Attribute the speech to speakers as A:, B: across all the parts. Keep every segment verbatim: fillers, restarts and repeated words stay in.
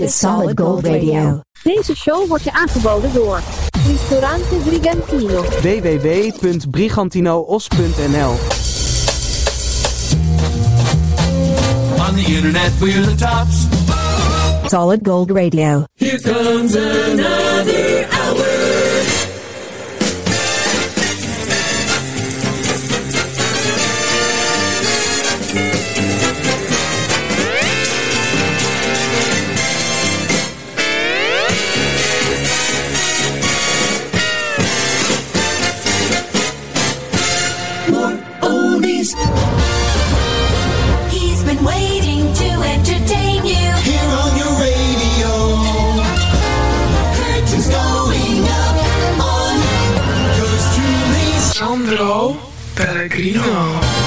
A: is Solid Gold Radio.
B: Deze show wordt je aangeboden door Ristorante Brigantino.
C: w w w punt brigantinoos punt n l
D: On the internet we're the tops.
A: Solid Gold Radio.
D: Here comes another hour.
E: He's been waiting to entertain you.
D: Here on your radio. Curtains going up on yours truly,
F: Sandro Pellegrino.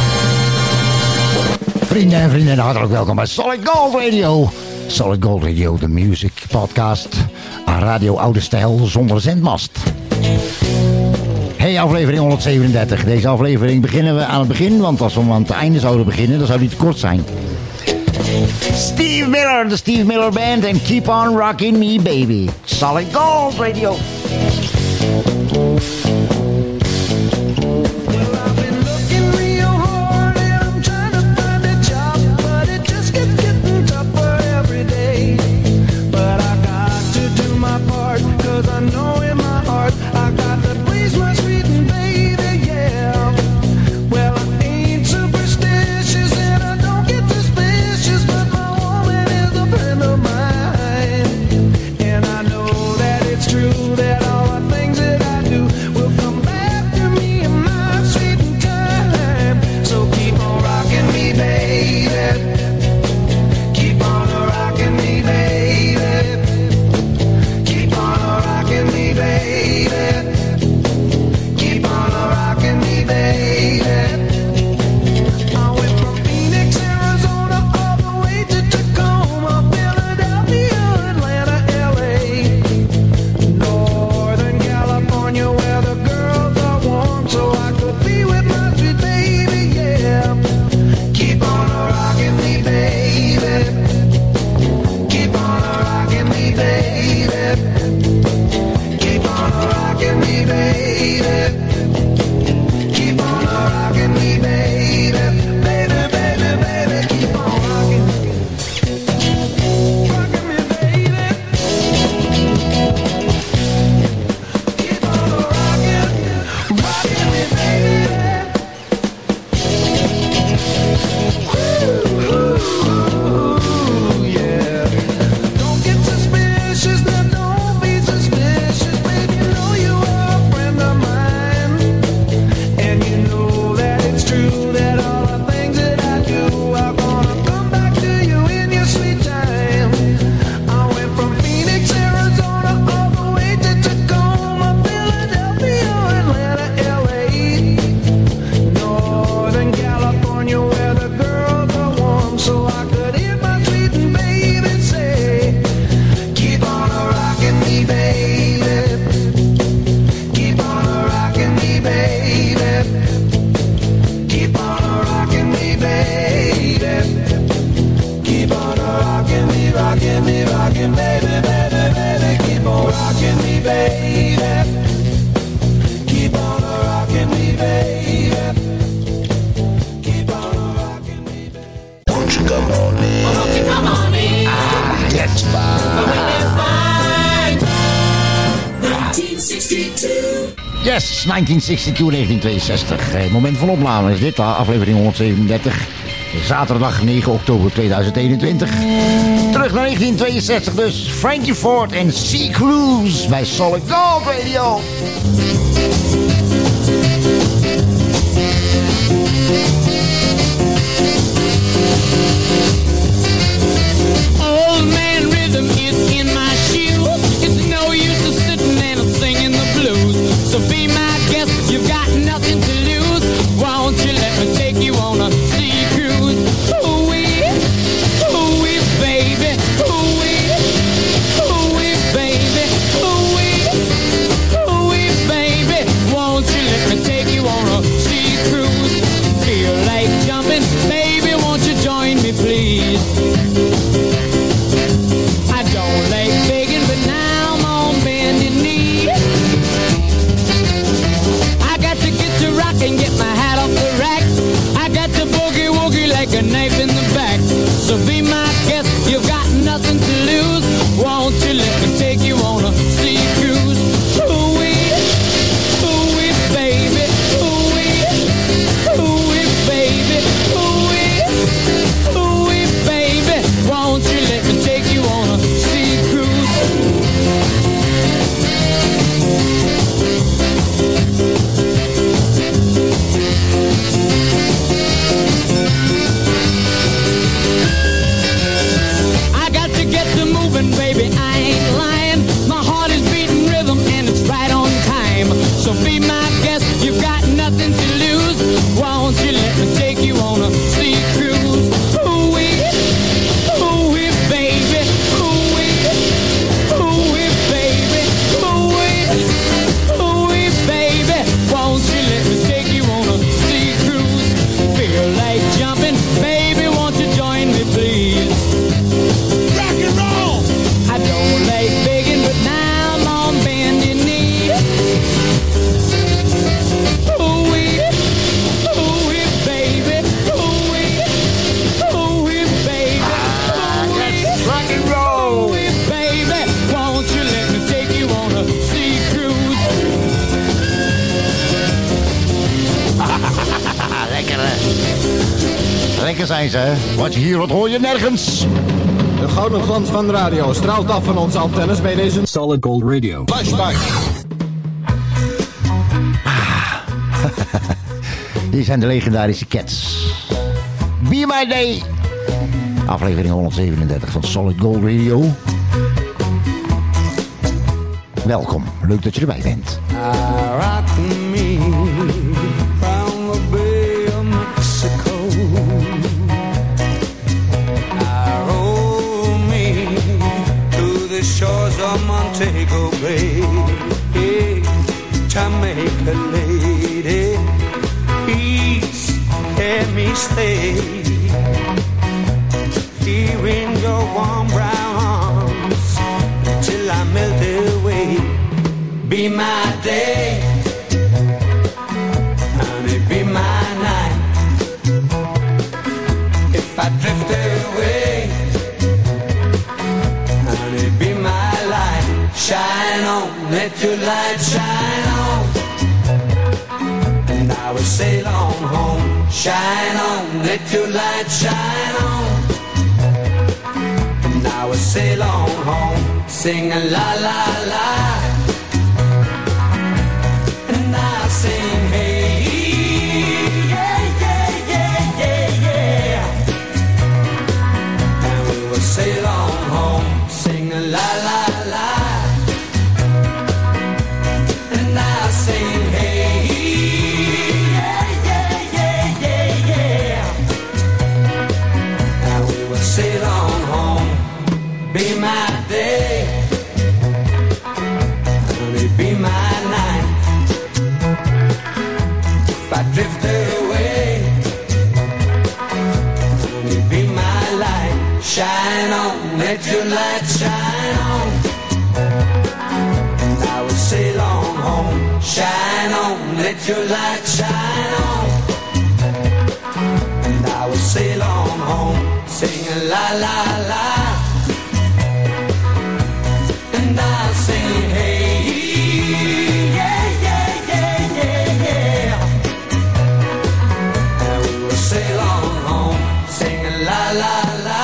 G: Vrienden en vrienden, hartelijk welkom bij Solid Gold Radio. Solid Gold Radio, de music podcast aan Radio Oude Stijl zonder zendmast. Hey, aflevering honderdzevenendertig. Deze aflevering beginnen we aan het begin, want als we aan het einde zouden beginnen, dan zou die te kort zijn. Steve Miller, de Steve Miller Band en Keep on Rockin' Me Baby. Solid Gold Radio. Yes, negentien zesentwintig, negentien tweeënzestig. Het moment van opname is dit, aflevering honderdzevenendertig. Zaterdag negen oktober tweeduizend eenentwintig. Terug naar negentien tweeënzestig dus. Frankie Ford en Sea Cruise bij Solid Gold Radio.
H: Old man rhythm is in my shoes. It's no use to sitting and singing the blues. So be my guest, you've got nothing to lose. Won't you let me take you on a sea cruise? Ooh-wee, ooh-wee, baby. Ooh-wee, ooh-wee, baby. Ooh-wee, ooh-wee, baby. Won't you let me take you on a sea cruise? Feel like jumping, baby, won't you join me?
G: Zeker zijn ze, hè? Wat je hier hoort, hoor je nergens.
I: De gouden glans van de radio straalt af van onze antennes bij deze Solid Gold Radio. Flashback.
G: Hier zijn de legendarische Cats. Be My Day. Aflevering honderdzevenendertig van Solid Gold Radio. Welkom, leuk dat je erbij bent.
J: Shores of Montego Bay, hey, Jamaica lady, please let me stay here in your warm brown arms till I melt away. Be my day, honey, be my night. If I drift away, honey, be my light. Shine on, let your light shine on, and I will sail on home. Shine on, let your light shine on, and I will sail on home. Sing a la la la, and I'll sing hey, yeah, yeah, yeah, yeah, yeah, and we will sail on home. Sing a la la la, and I'll sing hey, yeah, yeah, yeah, yeah, yeah, and we will sail on home. Be my day, honey, be my night. If I drift away, honey, be my light. Shine on, let your light shine on, and I will sail on home. Shine on, let your light shine on, and I will sail on home. Sing a la la la, and I'll sing hey, yeah, yeah, yeah, yeah, yeah, and we will sail on home. Sing a la la la,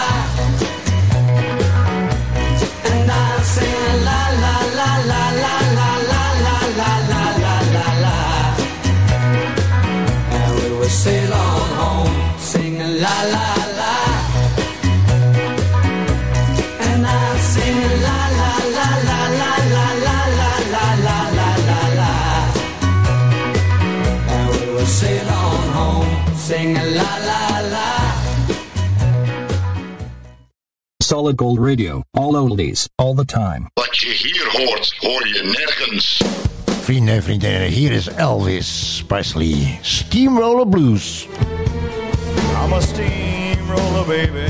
J: and I'll sing a la la la la la la la la la la la la, and we will sail on home. Sing a la la la, and I'll sing a la la la la la la la la la la la la, and we will sail on home. Sing a la la la.
I: Solid Gold Radio. All oldies, all the time.
K: Wat je hier hoort, hoor je nergens.
G: Vrienden en vriendinnen, hier is Elvis Presley. Steamroller Blues.
L: I'm a steamroller, baby.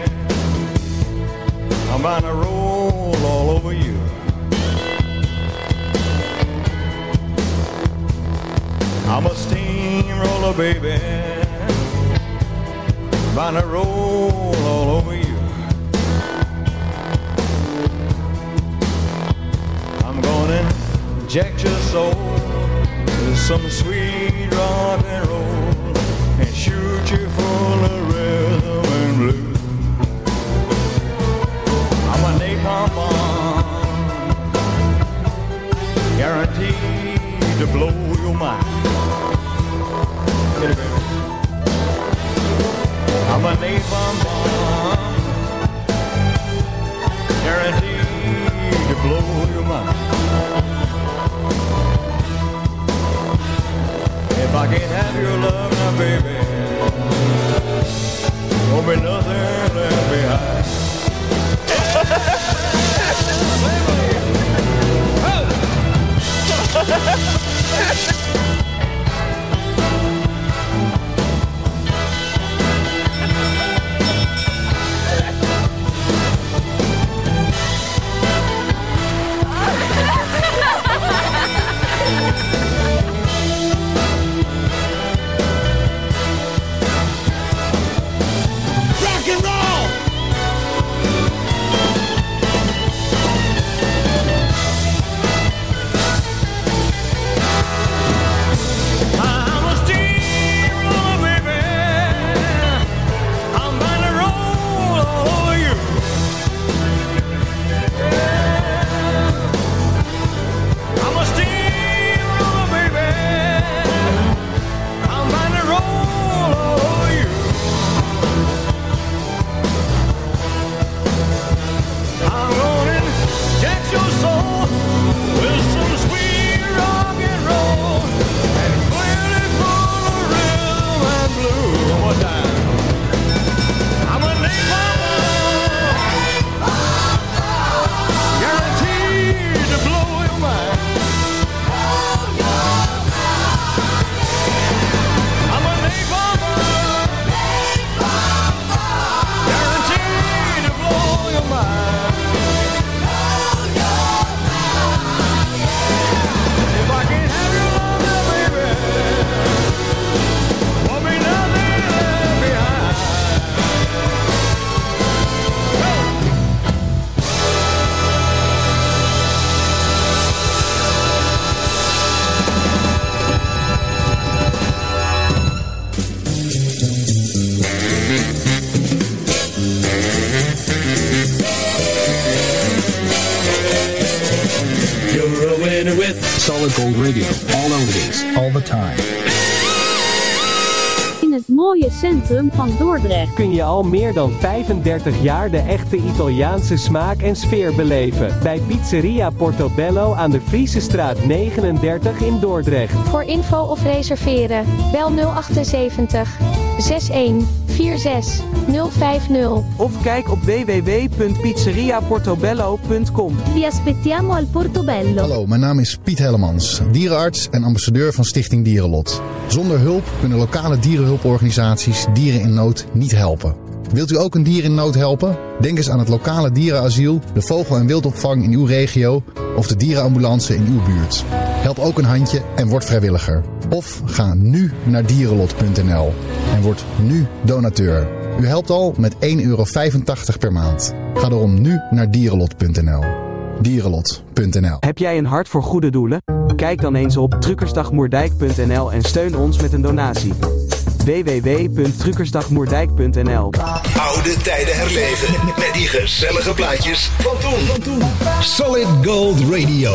L: I'm bound to roll all over you. I'm a steamroller, baby. Bound to roll all over you. I'm gonna inject your soul with some sweet rock and roll and shoot you full of rhythm and blues. I'm a napalm bomb, guaranteed to blow your mind. Get it, baby. I'm a napalm bomb, guaranteed to blow your mind. If I can't have your love now, baby, won't be nothing left behind.
I: with Solid Gold Radio. All oldies, all the time.
B: In het mooie centrum van Dordrecht
M: kun je al meer dan vijfendertig jaar de echte Italiaanse smaak en sfeer beleven. Bij Pizzeria Portobello aan de Friesestraat negenendertig in Dordrecht.
N: Voor info of reserveren, bel nul achtenzeventig zesendertig vierenzestig nul vijftig.
C: Of kijk op w w w punt pizzeria portobello punt com.
B: Vi aspettiamo al Portobello.
O: Hallo, mijn naam is Piet Hellemans, dierenarts en ambassadeur van Stichting Dierenlot. Zonder hulp kunnen lokale dierenhulporganisaties dieren in nood niet helpen. Wilt u ook een dier in nood helpen? Denk eens aan het lokale dierenasiel, de vogel- en wildopvang in uw regio of de dierenambulance in uw buurt. Help ook een handje en word vrijwilliger. Of ga nu naar dierenlot punt n l en word nu donateur. U helpt al met één euro vijfentachtig per maand. Ga daarom nu naar dierenlot punt n l. dierenlot punt n l.
C: Heb jij een hart voor goede doelen? Kijk dan eens op truckersdagmoerdijk punt n l en steun ons met een donatie. w w w punt truckersdagmoerdijk punt n l.
P: Oude tijden herleven met die gezellige plaatjes van toen. Solid Gold Radio.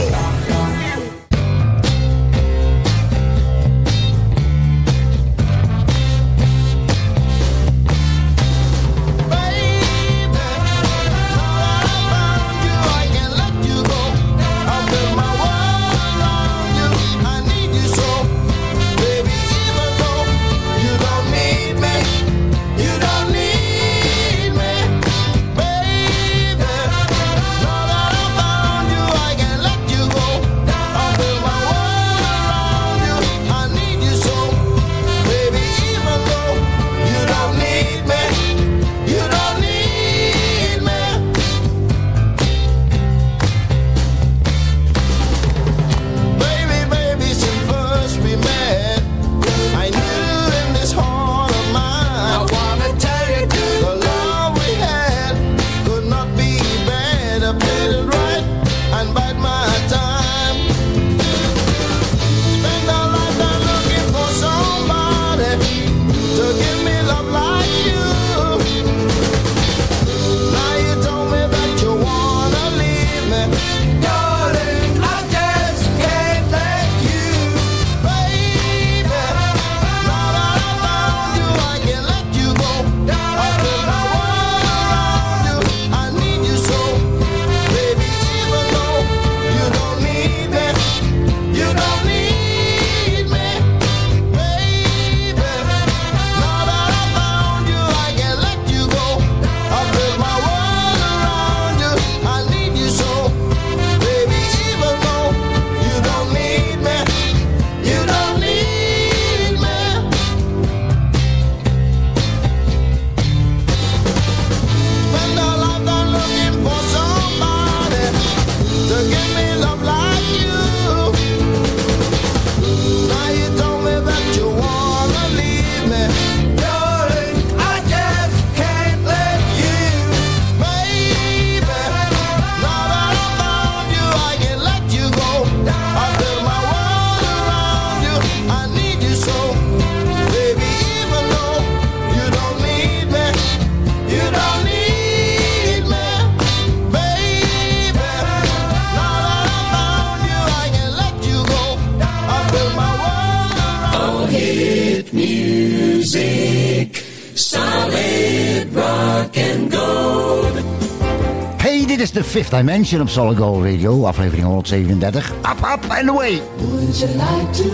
G: Dit is de Fifth Dimension op Solid Gold Radio, aflevering honderdzevenendertig. Up, up and away!
D: Would you like to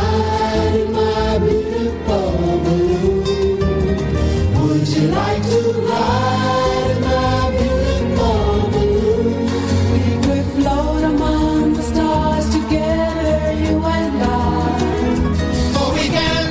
D: ride in my beautiful balloon? Would you like to ride in my beautiful balloon? We could float among the stars together, you and I. For we can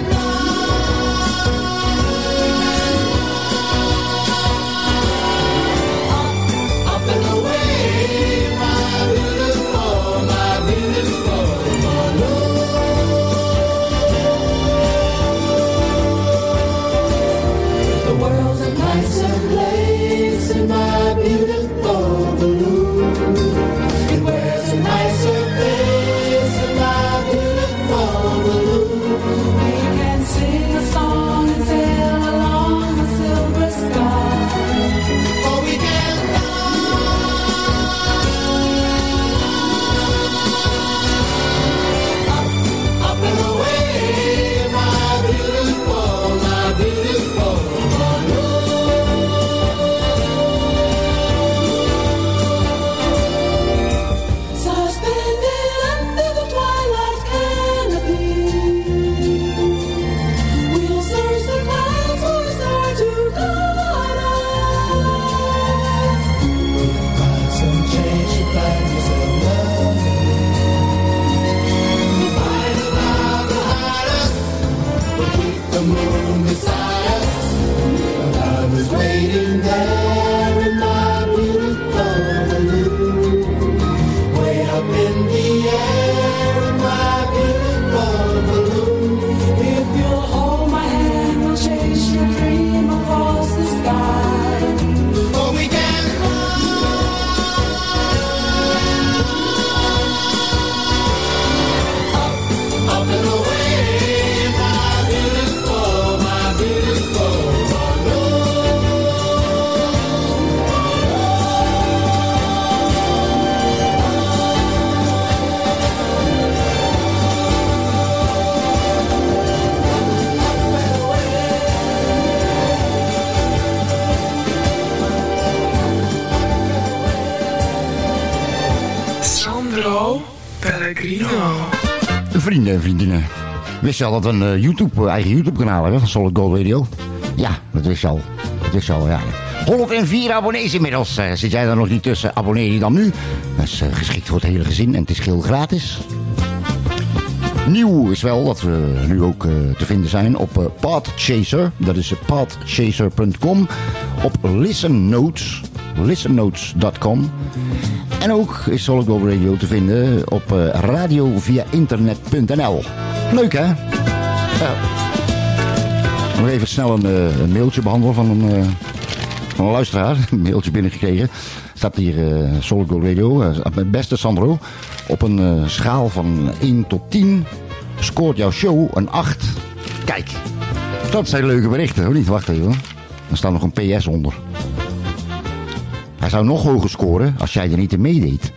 F: Sandro Pellegrino.
G: Vrienden en vriendinnen. Wist je al dat we een uh, YouTube, uh, eigen YouTube kanaal hebben van Solid Gold Radio? Ja, dat wist je al. Dat wist je al, ja. honderdvier abonnees inmiddels. Uh, zit jij daar nog niet tussen? Abonneer je dan nu. Dat is uh, geschikt voor het hele gezin en het is geheel gratis. Nieuw is wel dat we nu ook uh, te vinden zijn op uh, Podchaser. Dat is uh, podchaser punt com. Op Listen Notes. listen notes punt com. En ook is Solid Gold Radio te vinden op uh, radio via internet punt n l. Leuk, hè? Ja. Nog even snel een, uh, een mailtje behandelen van een, uh, van een luisteraar. Een mailtje binnengekregen. Staat hier uh, Solid Gold Radio. Uh, mijn beste Sandro. Op een uh, schaal van één tot tien scoort jouw show een acht. Kijk, dat zijn leuke berichten, hoor niet? Wacht even. Er staat nog een P S onder. Hij zou nog hoger scoren als jij er niet in meedeed.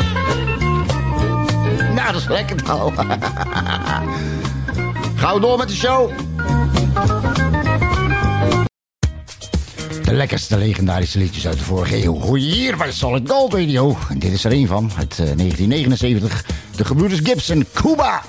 G: Nou, dat is lekker nou. Gaan we door met de show. De lekkerste legendarische liedjes uit de vorige eeuw hoor je hier bij Solid Gold Radio. En dit is er een van, uit uh, negentien negenenzeventig. De gebroeders Gibson, Cuba.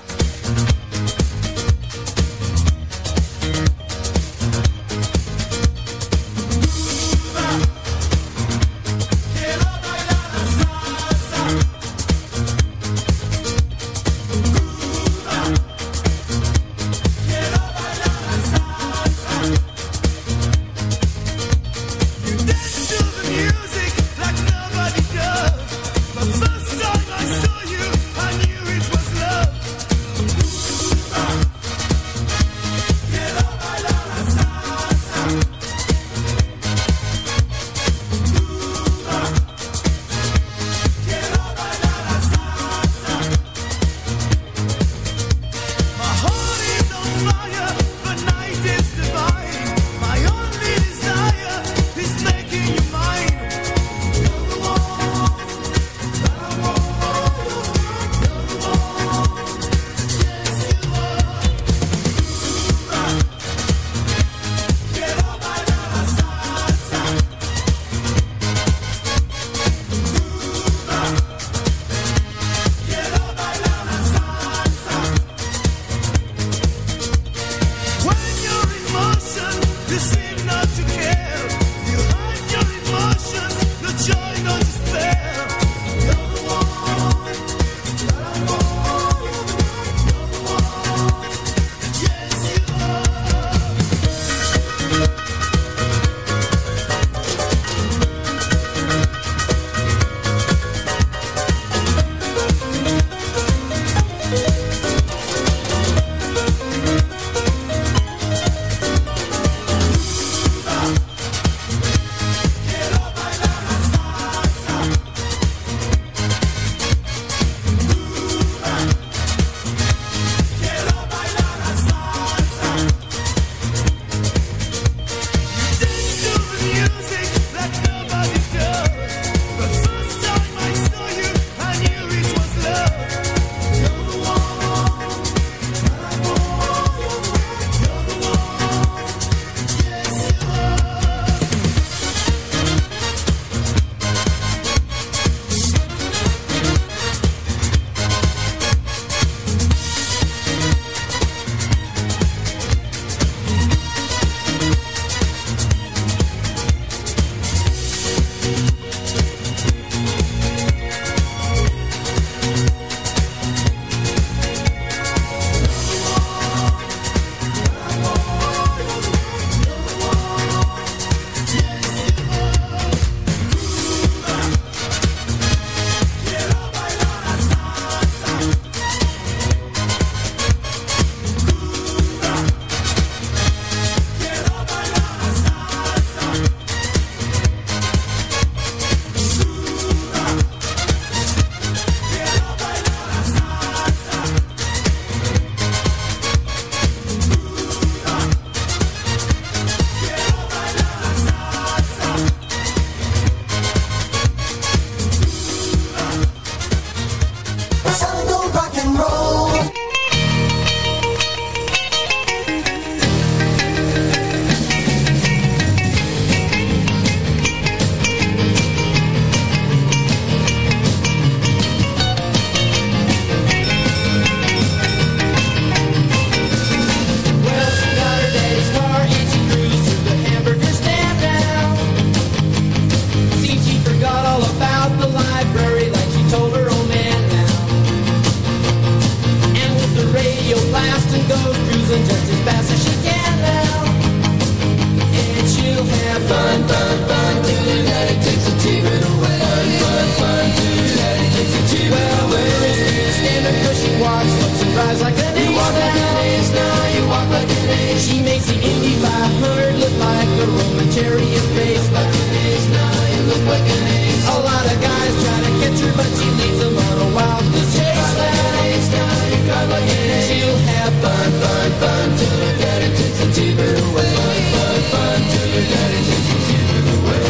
H: but she leads them on a wild goose chase. Down, you come again. She'll have fun, fun, fun till her daddy takes the T V away. Fun, fun till her daddy takes the T V away.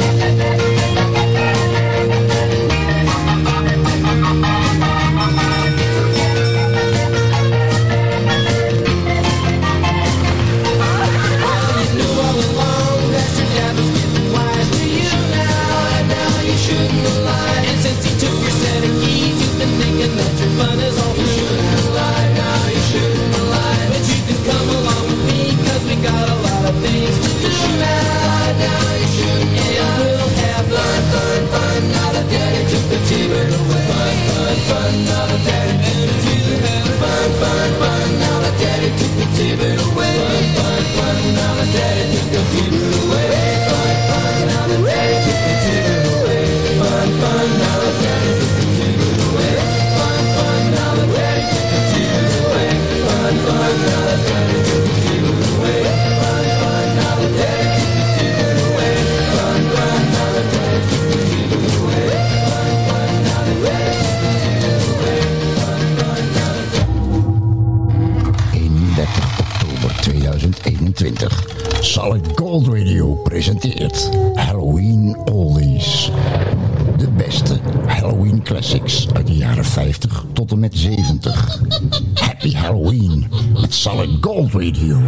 H: Fun is all you shouldn't lie, now you shouldn't lie. But you can come along with me, cause we got a lot of things to do now. Now you shouldn't, and we'll have fun, fun, fun. Now the daddy took the T-bird away. Fun, fun, fun, now the daddy took the T-bird away. Fun, fun, fun, now the daddy took the T-bird away. Fun, fun, fun, now the daddy took the T-bird away. Fun, fun, now the daddy took the T-bird away. Fun, fun, now the daddy took the T-bird away. Fun, fun, now the daddy took the T-bird away. Fun, fun, now the daddy took the T-bird away. Fun, fun, now the daddy took the T-bird away. Fun, fun, now the daddy took the T-bird away. Fun, fun, now the daddy took the T-bird away. Fun, fun, now the daddy.
G: eenendertig oktober tweeduizend eenentwintig. Solid Gold Radio presenteert Halloween Oldies. De beste Halloween classics uit de jaren vijftig tot en met zeventig. Happy Halloween met Solid Gold Radio.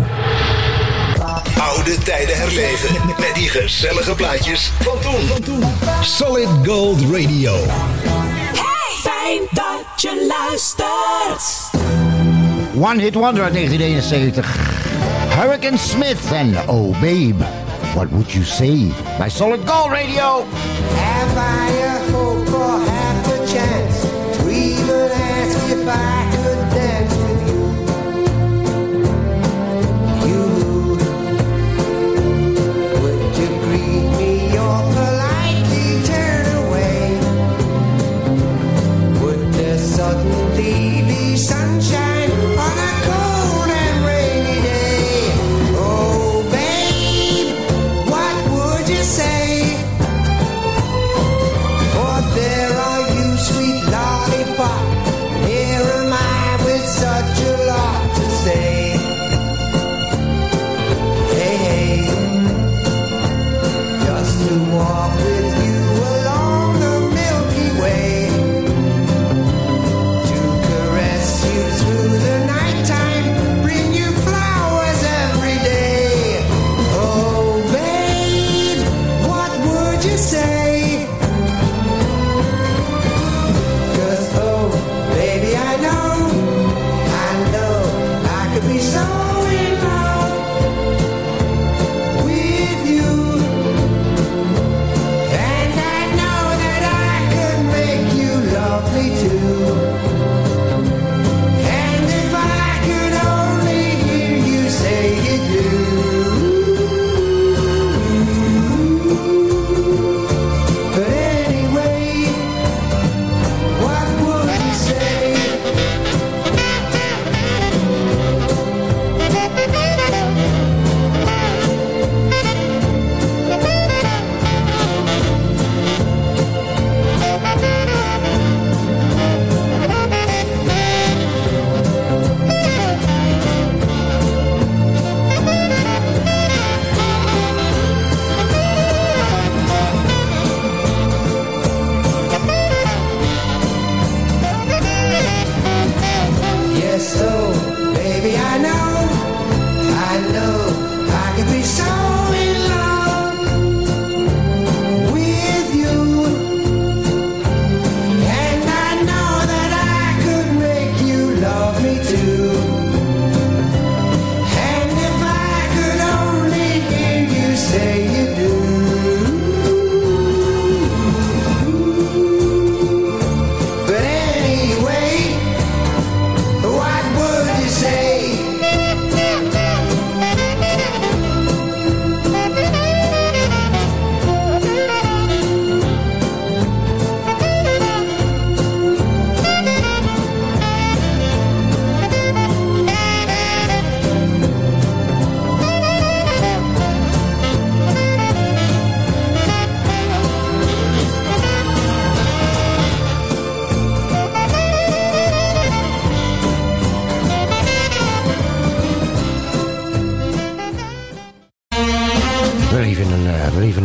P: Oude tijden herleven met die gezellige plaatjes van toen. Solid Gold Radio.
E: Hey, fijn dat je luistert.
G: One Hit Wonder uit negentien eenenzeventig. Hurricane Smith en Oh Babe, What Would You Say? Bij Solid Gold Radio.
Q: Have I a hope or half a chance to even ask if I could dance with you? You, would you greet me or politely turn away? Would there suddenly be sunshine on a cold and rainy day? Oh babe, what would you say? For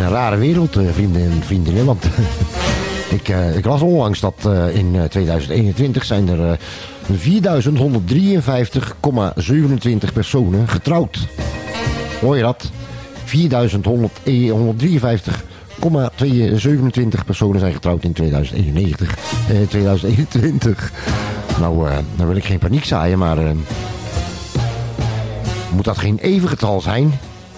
G: een rare wereld, uh, vrienden en vriendinnen. Want ik, uh, ik las onlangs dat uh, in uh, tweeduizend eenentwintig zijn er uh, vierduizend honderddrieënvijftig komma zevenentwintig personen getrouwd. Hoor je dat? vierduizend honderddrieënvijftig komma zevenentwintig personen zijn getrouwd in tweeduizend eenennegentig, eh, tweeduizend eenentwintig. Nou, uh, dan wil ik geen paniek zaaien, maar uh, moet dat geen even getal zijn?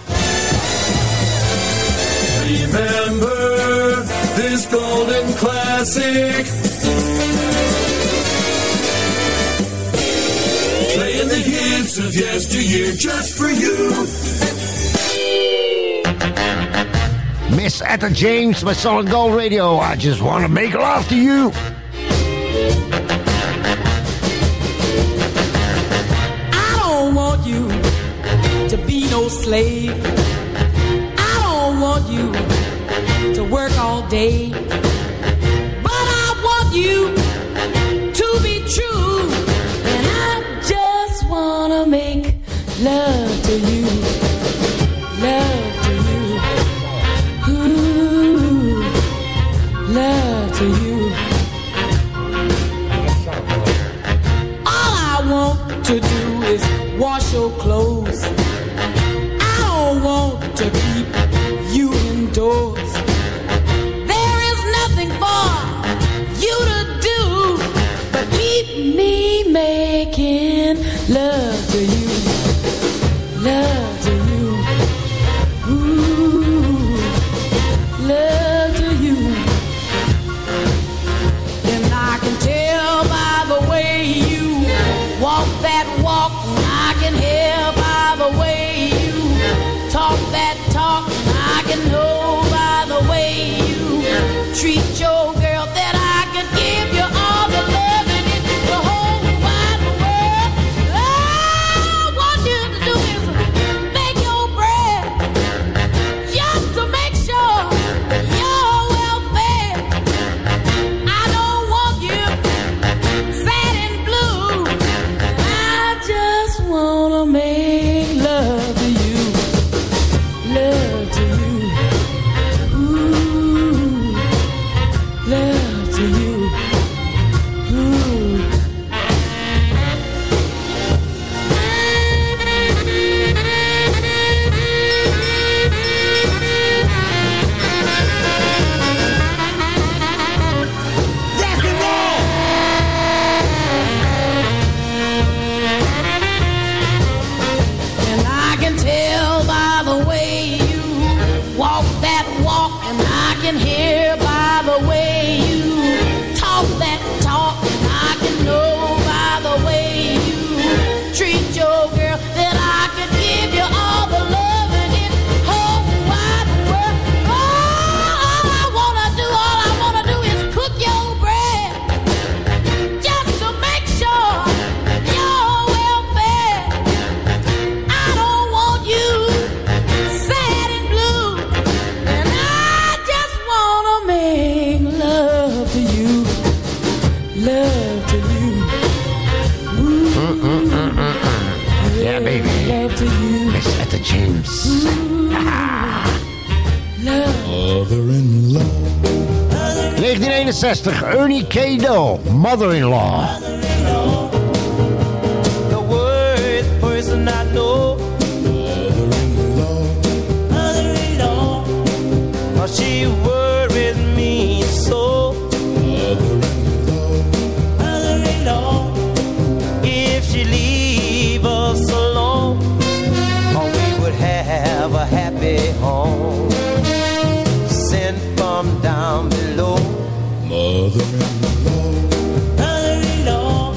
D: Remember this golden classic. Playing the hits of yesteryear just for you.
G: Miss Etta James by Solid Gold Radio. I just want to make love to you.
H: I don't want you to be no slave. I don't want you to work all day. But I want you to be true. And I just want to make love to you. Love to you. Ooh, love to you. All I want to do is wash your clothes. I don't want to keep you indoors. There is nothing for you to do but keep me making love to you. Love to you. Ooh, love to you. And I can tell by the way you walk that walk. I can hear by the way you talk that talk. I can know by the way you treat your girl that I could give you all the love in it, the whole wide world. All I want you to do is make your bread, just to make sure you're well fed. I don't want you sad and blue. I just wanna make love to you, love to you. Ooh, love to you. Ooh. Rock and roll. And I can tell by the way you walk that walk, and I can hear by the way you talk that talk, and I can know by the way you treat your girl that I could give you all the love in it whole wide world. All I wanna do, all I wanna do is cook your bread, just to make sure you're well fed. I don't want you sad and blue, and I just wanna make love to you, love to you. Ooh,
G: Yeah, baby.
H: love to you.
G: Miss Etta James.
H: Love.
G: negentien eenenzestig, Ernie K. Doe, Mother-in-Law.
R: The worst person I know. Mother-in-law. Oh, she worries me so. Mother-in-law. If she leave us alone, oh, we would have a happy home. Sent from down below. Mother-in-law. Mother-in-law.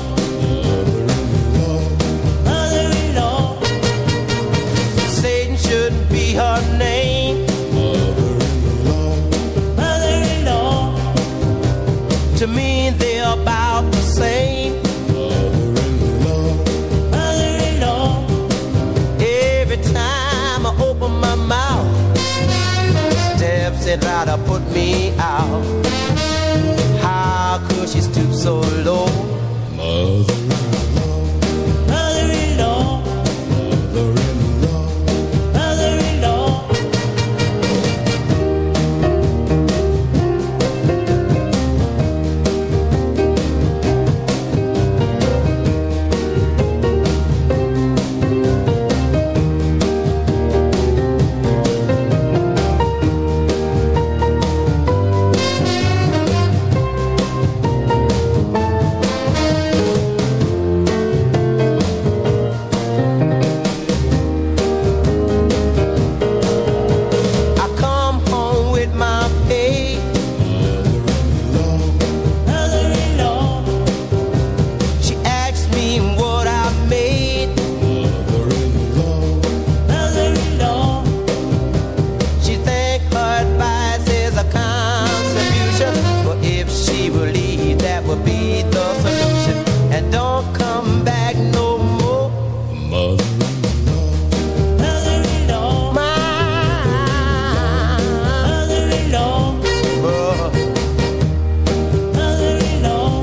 R: Mother-in-law. Satan shouldn't be her name. Mother-in-law. Mother-in-law. To me, they're about the same. Mother-in-law. Mother-in-law. Every time I open my mouth, steps it right to put me out. How could she stoop so low? Mother-in-law. Mother-in-law. Mother-in-law. Mother-in-law. will be the solution. And don't come back no more, mother. Mother-in-law, my mother-in-law, oh. Mother-in-law,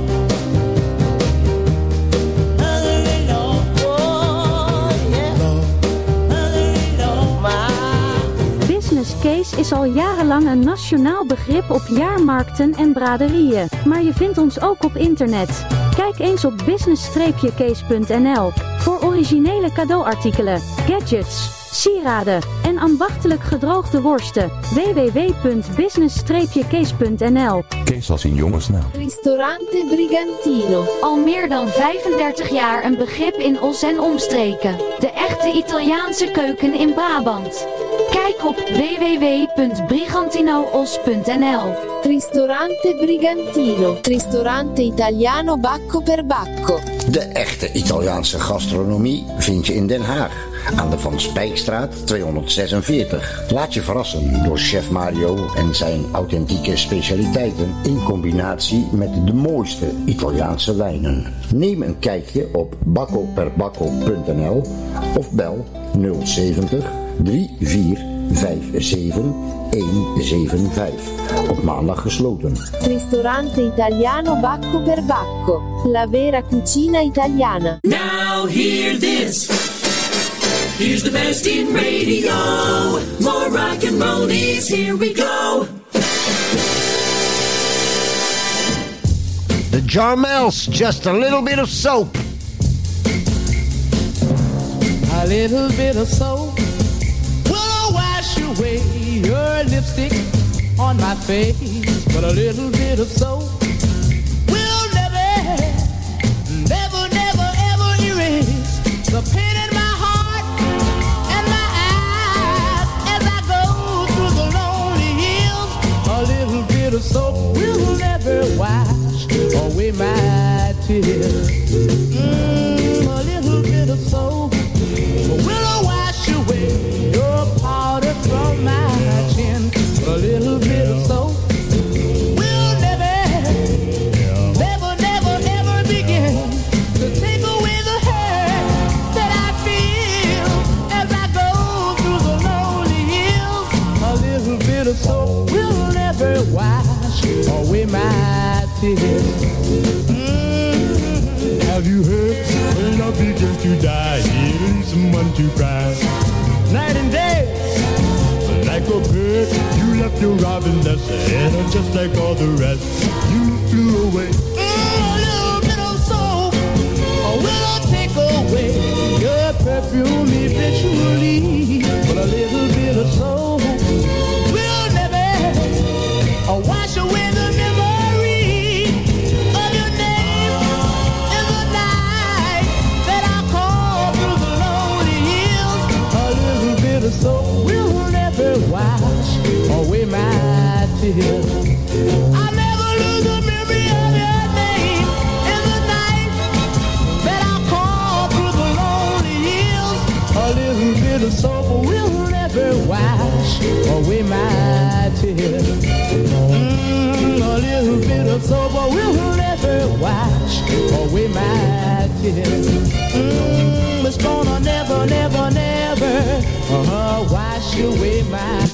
R: mother-in-law, oh yeah. Mother-in-law, my.
S: Business case is al jarenlang een nationaal begrip op jaarmarkten en braderieën, maar je vindt ons ook op internet. Kijk eens op business case punt n l voor originele cadeauartikelen, gadgets, sieraden en ambachtelijk gedroogde worsten. w w w punt business case punt n l.
T: Kees als in jongensnaam.
B: Ristorante Brigantino.
N: Al meer dan vijfendertig jaar een begrip in Os en omstreken. De echte Italiaanse keuken in Brabant. Kijk op w w w punt brigantinoos punt n l.
B: Ristorante Brigantino. Ristorante Italiano bacco per bacco.
G: De echte Italiaanse gastronomie vind je in Den Haag. Aan de Van Spijkstraat tweehonderdzesenveertig. Laat je verrassen door chef Mario en zijn authentieke specialiteiten in combinatie met de mooiste Italiaanse wijnen. Neem een kijkje op bacco per bacco punt n l of bel nul zeventig drie vier vijf zeven een zeven vijf. Op maandag gesloten.
B: Ristorante Italiano bacco per bacco. La vera cucina italiana.
E: Now hear this. Here's the best in radio. More rock and roll is here we go.
G: The Jarmels, just a little bit of soap.
H: A little bit of soap will wash away your lipstick on my face. But a little bit of soap will never, never, never, ever erase the pain in my heart and my eyes as I go through the lonely hills. A little bit of soap will never wash away my tears. Mm, a little bit of soap will wash away your powder from my chin. A little bit of soap will never, never, never, ever begin to take away the hurt that I feel as I go through the lonely hills. A little bit of soap will never wash away my tears. Mm-hmm. Have you heard? When love begins to die, it leaves someone to cry. Night and day, like a bird, you left your robin nest, and just like all the rest, you flew away. Mm, a little bit of soap will take away your perfume eventually, but a little bit of soap will never uh, wash away the memory of your name in the night that I call through the lonely hills. A little bit of soap will never wash away my tears. I never lose the memory of your name in the night that I call through the lonely hills. A little bit of soap will never wash away my tears. Mm, a little bit of soap will never wash away my tears. Mm, it's gonna never, never, never uh-huh, wash away my.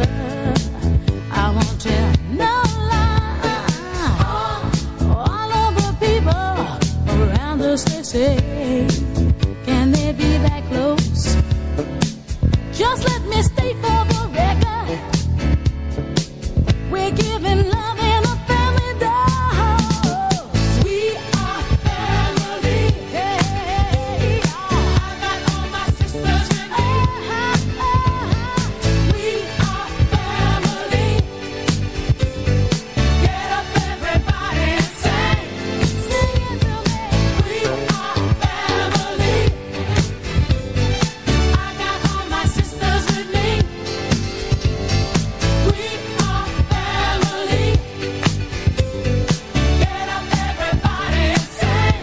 T: I won't tell no lie. All of the people around us, they say, can they be that close? Just let me state for the record, we're giving love in a family dose. We are family. Hey, I got all my sisters with me. We are family. Get up, everybody, and sing. Sing it to me. We are family. I got all my sisters with me. We are family. Get up, everybody, and sing.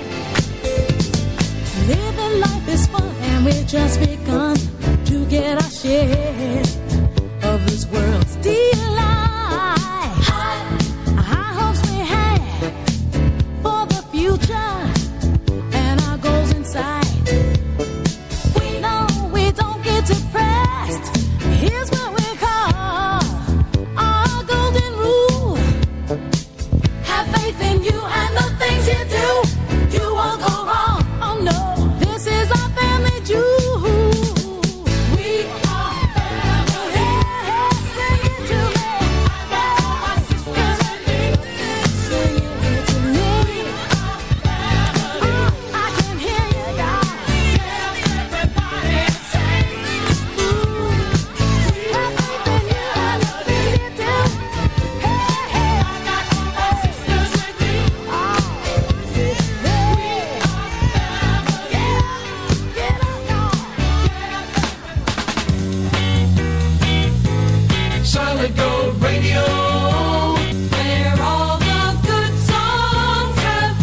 T: Living life is fun, and we've just begun to get our share of this world's delight. High hopes we have for the future, and our goals in sight. We know we don't get depressed. Here's what we call our golden rule. Have faith in you and the things you do. You won't go wrong. Oh no, this is our family jewel. We are family. Sing it to me. I got all my sisters with me. Sing it to me. Oh, I can hear you, y'all. Get up, everybody, and sing. Ooh, have faith in you and the things you do. Hey, hey, I got all my sisters with me. Oh, we are family. Get up, y'all.
E: Solid Gold Radio, where all the good songs have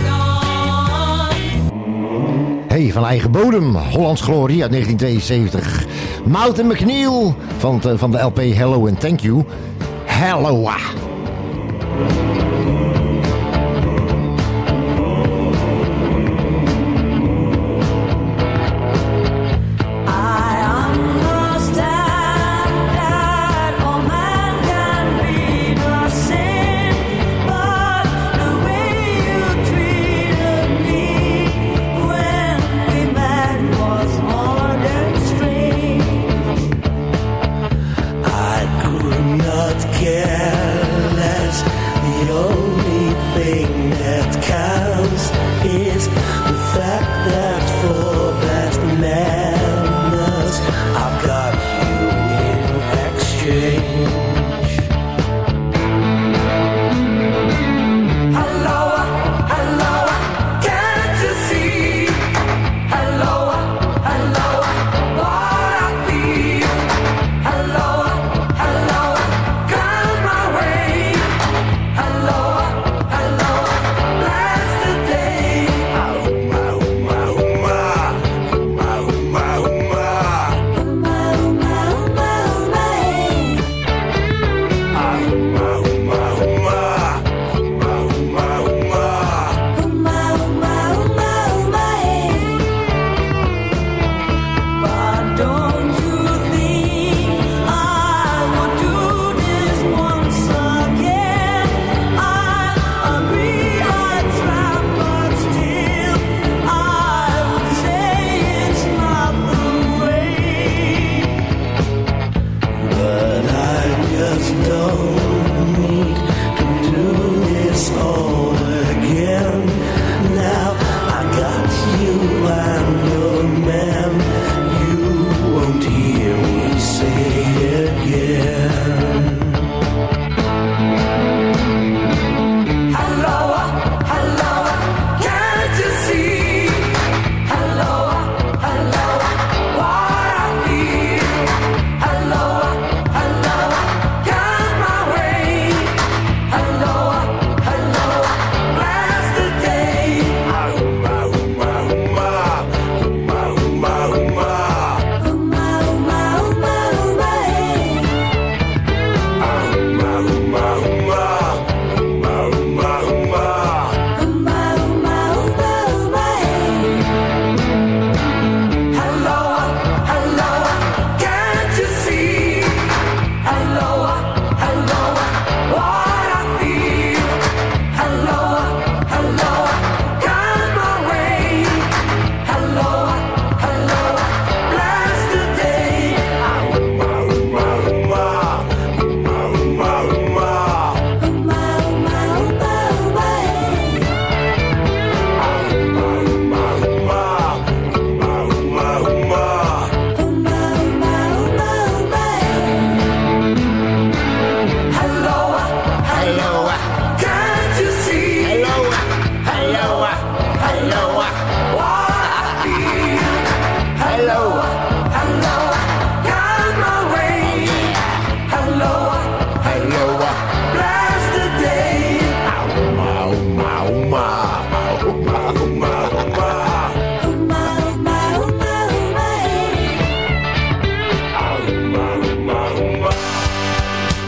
E: gone.
G: Hey, van eigen bodem, Hollands Glorie uit negentien tweeënzeventig. Mountain McNeil van, het, van de L P Hello and Thank You. Hello.
J: I could not care less. The only thing that counts is the fact that for that madness I've got you in exchange. Hello, hello, can't you see? Hello, hello, what I feel. Hello, hello, come my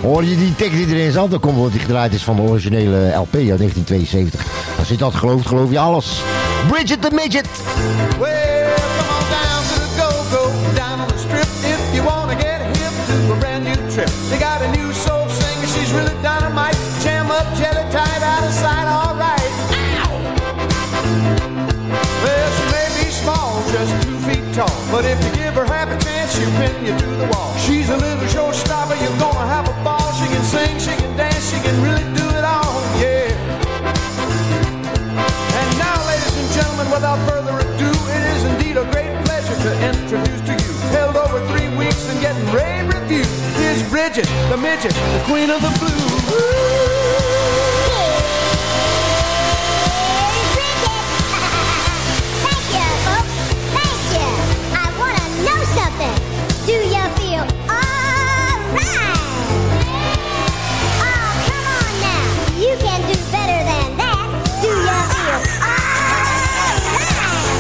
G: Hoor je die tekst die erin zat? Dan komt wat die gedraaid is van de originele L P uit negentien tweeënzeventig. Als je dat gelooft, geloof je alles. Bridget the Midget.
Q: Well, come on down to the go-go, down on the strip if you wanna get hip to a brand new trip. They got a new soul singer, she's really dynamite. Jam up, jelly tight, out of sight, alright. Well, she may be small, just two feet tall, but if you give her half a chance, she'll pin you to the wall. She's a little showstopper, you're gonna have a ball. She can sing, she can dance, she can really do it all, yeah. And now, ladies and gentlemen, without further ado, it is indeed a great pleasure to introduce to you, held over three weeks and getting rave reviews, is Bridget the Midget, the queen of the blues.
U: Do you feel alright? Oh, come on now. You can do better than that. Do you feel alright?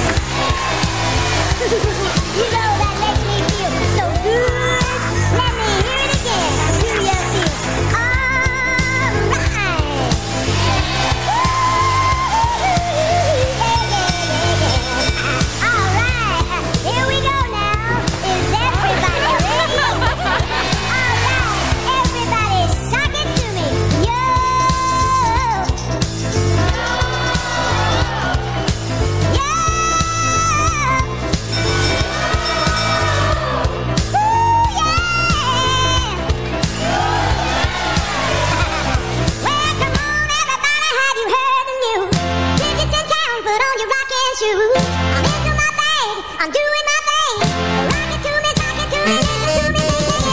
U: You know that makes me feel so good. Let me hear it again. Do you feel alright? Alright, here we go now. Is everybody ready? Alright, everybody suck it to me. Yo! Yo! Ooh, yeah! Well, come on, everybody, have you heard the news? Digits in town, put on your rockin' shoes. I'm into my thing, I'm doing my thing. Rock it to me, sock it to me, listen to me, sing it.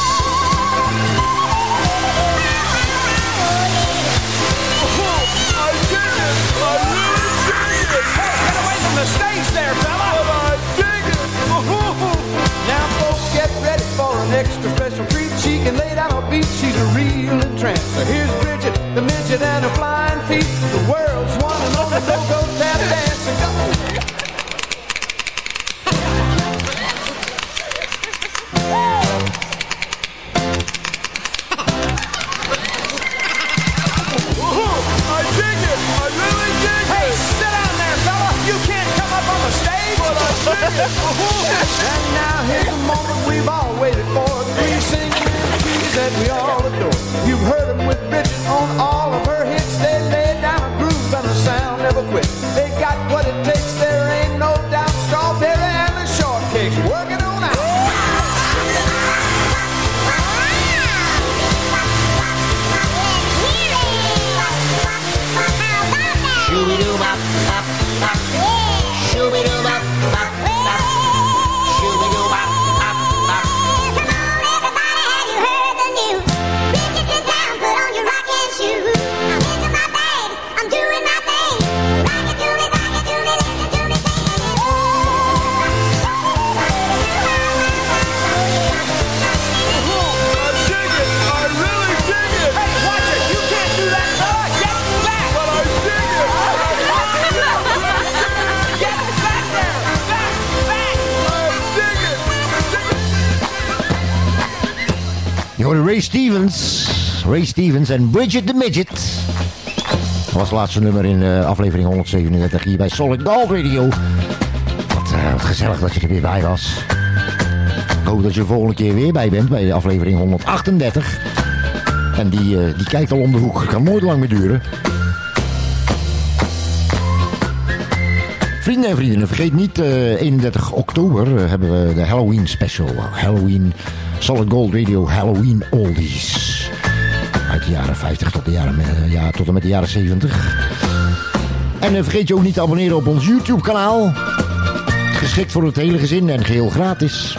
Q: I dig it! I really dig it! Hey, get away from the stage there, fella! But I dig it! Now, folks, get ready for an extra special treat. She can lay down a beat, she's a real entrance. So here's Bridget, the midget, and her flying feet. The world's one and only go-go tap dancing. Go! I dig it! I really dig it! Hey, sit down there, fella! You can't come up on the stage! But I dig it! And now here's the moment we've all waited for. Three singing melodies that we all adore. You've heard them with Bridget on all of her hits. They lay down a groove and the sound never quit. They got what it takes, there ain't no doubt. Strawberry and the shortcakes working on out.
R: Shooby-doo-bop, bop, bop. Shooby-doo-bop, bop, bop. Shooby-doo-bop, bop, bop.
U: Come on, everybody, have you heard the news? Bridget's in town, put on your rockin' shoes. I'm into my bag, I'm doing my thing. Rock it to me, sock it to me, listen to me, sing it.
Q: I dig it! I really dig it! Hey, watch it! You can't do that, fella! Get back! But I dig it! Get back there! Back! Back! I dig it!
G: Je hoorde Ray Stevens. Ray Stevens en Bridget the Midget. Dat was het laatste nummer in uh, aflevering honderdzevenendertig hier bij Solid Gold Radio. Wat, uh, wat gezellig dat je er weer bij was. Ik hoop dat je de volgende keer weer bij bent bij aflevering honderdachtendertig. En die, uh, die kijkt al om de hoek. Het kan nooit lang meer duren. Vrienden en vriendinnen, vergeet niet, uh, eenendertig oktober uh, hebben we de Halloween special. Halloween, Solid Gold Radio Halloween Oldies. Uit de jaren vijftig tot, de jaren, uh, ja, tot en met de jaren zeventig. En uh, vergeet je ook niet te abonneren op ons YouTube kanaal. Geschikt voor het hele gezin en geheel gratis.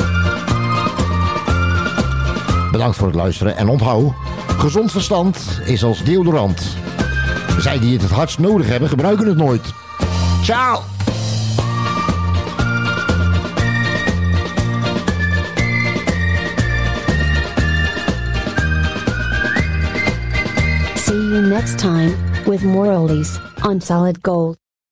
G: Bedankt voor het luisteren en onthoud, gezond verstand is als deodorant. Zij die het het hardst nodig hebben, gebruiken het nooit. Ciao!
A: See you next time with more oldies on Solid Gold.